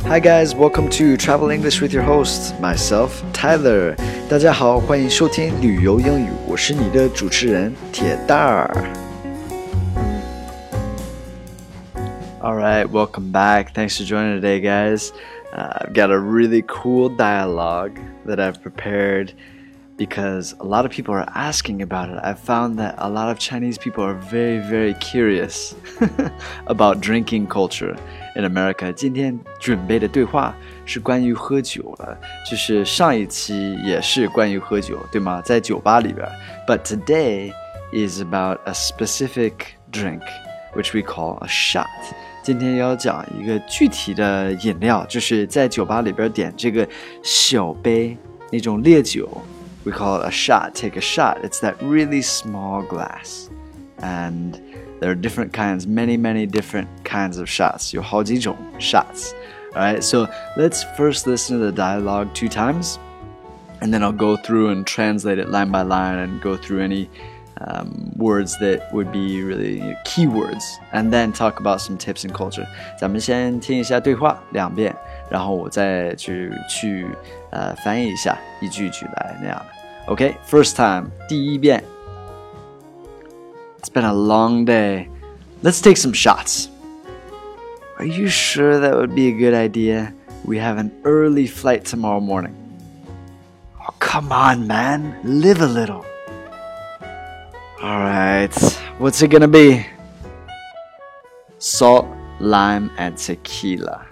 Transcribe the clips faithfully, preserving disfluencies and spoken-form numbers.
Hi guys, welcome to Travel English with your host, myself, Tyler. 大家好，欢迎收听旅游英语，我是你的主持人铁蛋儿。Alright, welcome back. Thanks for joining today, guys. Uh, I've got a really cool dialogue that I've prepared because a lot of people are asking about it. I've found that a lot of Chinese people are very, very curious about drinking culture in America. 今天准备的对话是关于喝酒的，就是上一期也是关于喝酒，对吗？在酒吧里边。But today is about a specific drink, which we call a shot. 今天要讲一个具体的饮料，就是在酒吧里边点这个小杯那种烈酒。We call it a shot. Take a shot. It's that really small glass. And there are different kinds, many, many different kinds of shots. 有好几种 shots. Alright, so let's first listen to the dialogue two times. And then I'll go through and translate it line by line and go through any um, words that would be really keywords. And then talk about some tips and culture. 咱们先听一下对话两遍，然后我再去去呃翻译一下，一句一句来那样的。Okay, first time, 第一遍。It's been a long day. Let's take some shots. Are you sure that would be a good idea? We have an early flight tomorrow morning. Oh, come on, man. Live a little. All right, what's it gonna be? Salt, lime, and tequila.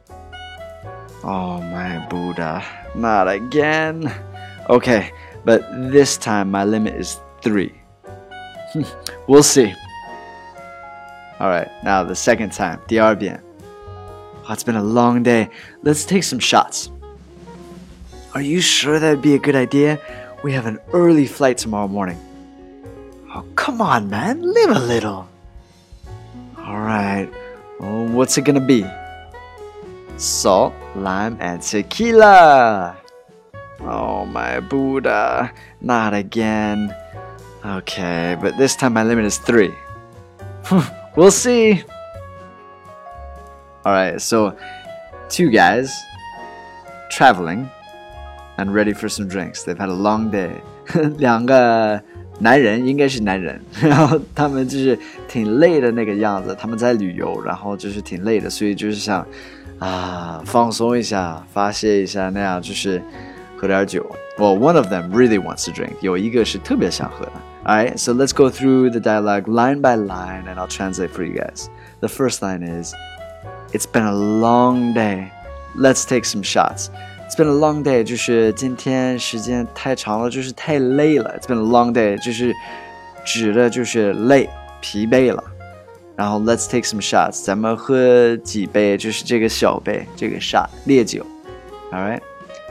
Oh, my Buddha. Not again. Okay, but this time my limit is three. We'll see. Alright, now the second time. 第二遍. Oh, it's been a long day. Let's take some shots. Are you sure that'd be a good idea? We have an early flight tomorrow morning. Oh, come on, man. Live a little. Alright, well, what's it gonna be? Salt, lime, and tequila. Oh, my Buddha. Not again. Okay, but this time my limit is three. We'll see. Alright, so two guys traveling and ready for some drinks. They've had a long day. 两个男人，应该是男人，然后他们就是挺累的那个样子，他们在旅游，然后就是挺累的，所以就是想啊放松一下，发泄一下，那样就是喝点酒。Well, one of them really wants to drink. 有一个是特别想喝的。Alright, so let's go through the dialogue line by line and I'll translate for you guys. The first line is, It's been a long day. Let's take some shots. It's been a long day, 就是今天时间太长了，就是太累了。It's been a long day, 就是指的就是累，疲惫了。然后 let's take some shots. 咱们喝几杯，就是这个小杯，这个 shot 烈酒。Alright?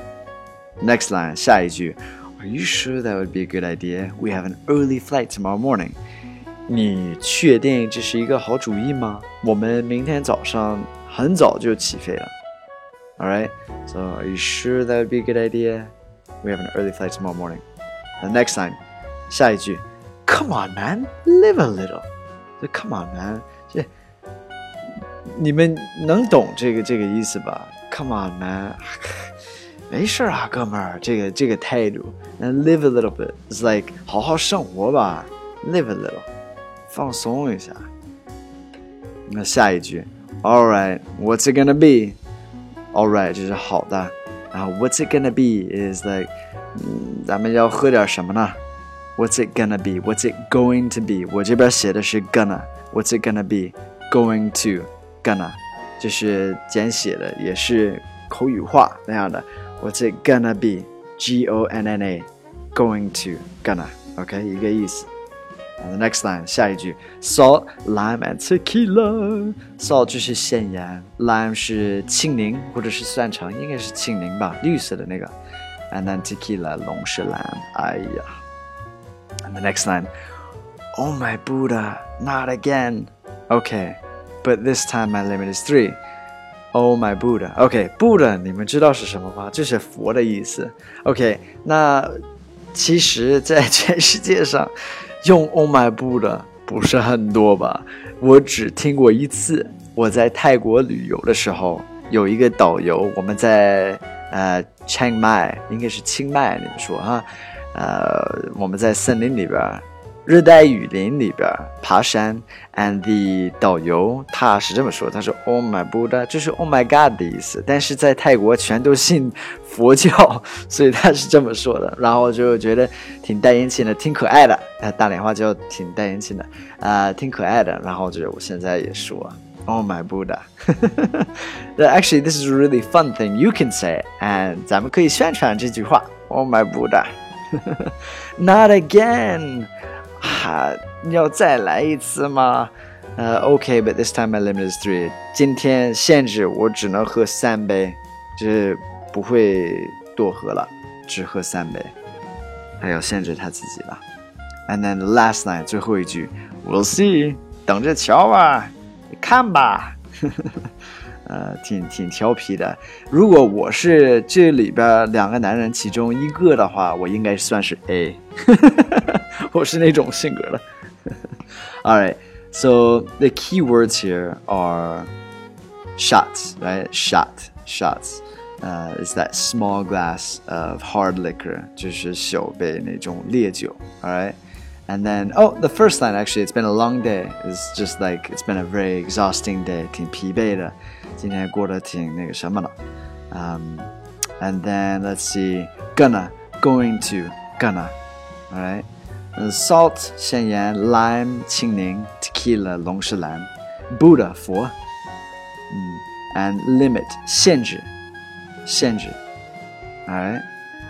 Next line, 下一句。Are you sure that would be a good idea? We have an early flight tomorrow morning. 你确定这是一个好主意吗？我们明天早上很早就起飞了。Alright, so are you sure that would be a good idea? We have an early flight tomorrow morning. The next line, 下一句 Come on, man, live a little. So, Come on, man. 这你们能懂这个这个意思吧 ？Come on, man. 没事啊，哥们儿，这个这个态度。And live a little bit. It's like 好好生活吧 ，live a little， 放松一下。那下一句 ，All right, what's it gonna be? All right 就是好的。然后 What's it gonna be is like， 嗯，咱们要喝点什么呢 ？What's it gonna be? What's it going to be? 我这边写的是 gonna. What's it gonna be? Going to gonna， 就是简写的，也是口语化那样的。What's it gonna be? G O N N A. Going to. Gonna. Okay, 一个意思。And the next line, 下一句 Salt, lime, and tequila. Salt 就是咸盐 Lime 是青柠或者是蒜橙应该是青柠吧绿色的那个 And then tequila, 龙舌兰哎呀 And the next line Oh my Buddha, not again. Okay, but this time my limit is three.Oh my Buddha. OK, Buddha 你们知道是什么吗？就是佛的意思。OK, 那其实在全世界上用 Oh my Buddha 不是很多吧，我只听过一次。我在泰国旅游的时候有一个导游，我们在呃 Chiang Mai， 应该是清迈，你们说哈，呃，我们在森林里边，热带雨林里边爬山 ，and the 导游他是这么说，他说 Oh my Buddha， 就是 Oh my God 的意思，但是在泰国全都信佛教，所以他是这么说的，然后就觉得挺带引起的，挺可爱的，呃，大连话就挺带引起的，啊、呃，挺可爱的，然后就我现在也说。Oh my Buddha. Actually, this is a really fun thing. You can say it. And 咱们可以宣传这句话 Oh my Buddha. Not again. 啊，要再来一次吗？呃、uh, Okay, but this time my limit is three. 今天限制我只能喝三杯，就是不会多喝了，只喝三杯。还要限制他自己了。And then the last line, 最后一句 We'll see. 等着瞧吧。看吧，呃，挺挺调皮的。如果我是这里边两个男人其中一个的话，我应该算是 A 。我是那种性格的。All right, so the key words here are shots, right? Shot, shots. Uh, is that small glass of hard liquor, 就是小杯那种烈酒。All right.And then, oh, the first line, actually, it's been a long day. It's just like, it's been a very exhausting day. 挺疲惫的，今天过得挺那个什么的。Um, and then, let's see, gonna, going to, gonna, all right? And salt, 咸盐 lime, 青柠 tequila, 龙舌兰 Buddha, 佛 mm, and limit, 限制限制 all right?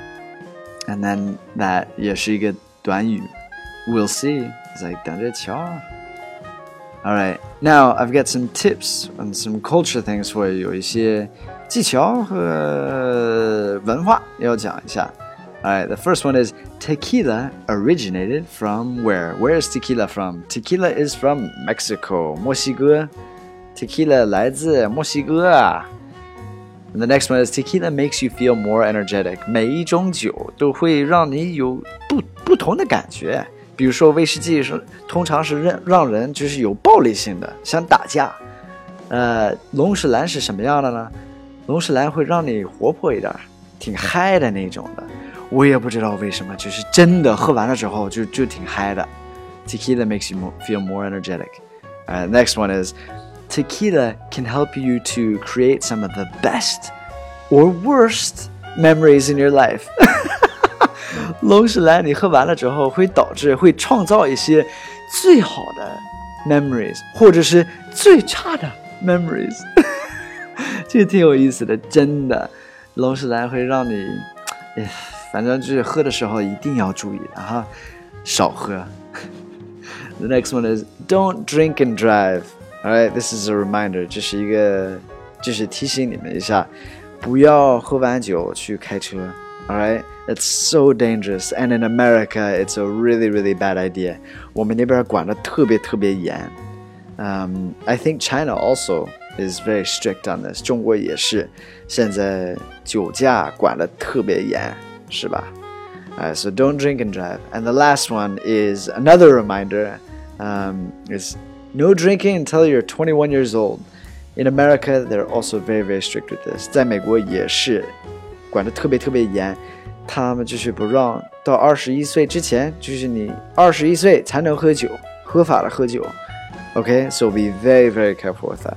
And then, that 也是一个短语We'll see. It's like 等着瞧。All right. Now I've got some tips and some culture things for you. 有一些技巧和文化要讲一下。All right. The first one is tequila originated from where? Where is tequila from? Tequila is from Mexico. 墨西哥。Tequila 来自墨西哥啊。And the next one is tequila makes you feel more energetic. 每一种酒都会让你有不不同的感觉。比如说威士忌是通常是让让人就是有暴力性的，想打架。呃，龙舌兰是什么样的呢？龙舌兰会让你活泼一点，挺嗨的那种的。我也不知道为什么，就是真的喝完了之后就就挺嗨的。Tequila makes you more, feel more energetic. Uh, next one is tequila can help you to create some of the best or worst memories in your life. 龙舌兰你喝完了之后会导致会创造一些最好的 memories 或者是最差的 memories 这个挺有意思的，真的龙舌兰会让你反正就是喝的时候一定要注意的哈，少喝。The next one is don't drink and drive. Alright, this is a reminder. 这是一个就是提醒你们一下，不要喝完酒去开车。Alright, it's so dangerous. And in America, it's a really, really bad idea. 我们那边管得特别特别严。Um, I think China also is very strict on this. 中国也是，现在酒驾管得特别严，是吧？Alright, so don't drink and drive. And the last one is another reminder. Um, is no drinking until you're twenty-one years old. In America, they're also very, very strict with this. 在美国也是。管得特别特别严，他们就是不让到二十一岁之前，就是你二十一岁才能喝酒，合法的喝酒。Okay, so be very, very careful with that.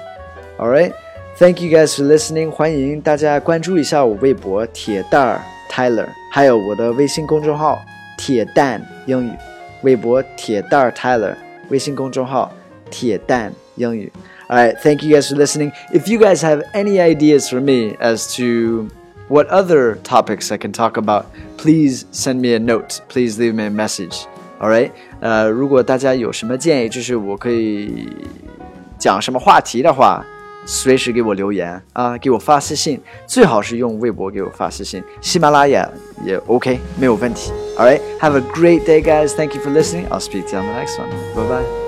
All right, thank you guys for listening. 欢迎大家关注一下我微博铁蛋儿 Tyler， 还有我的微信公众号铁蛋英语。微博铁蛋儿 Tyler， 微信公众号铁蛋英语。All right, thank you guys for listening. If you guys have any ideas for me as to what other topics I can talk about, please send me a note. Please leave me a message. All right? 呃，如果大家有什么建议，就是我可以讲什么话题的话，随时给我留言啊，给我发私信，最好是用微博给我发私信，喜马拉雅也 OK， 没有问题。All right? Have a great day, guys. Thank you for listening. I'll speak to you on the next one. Bye-bye.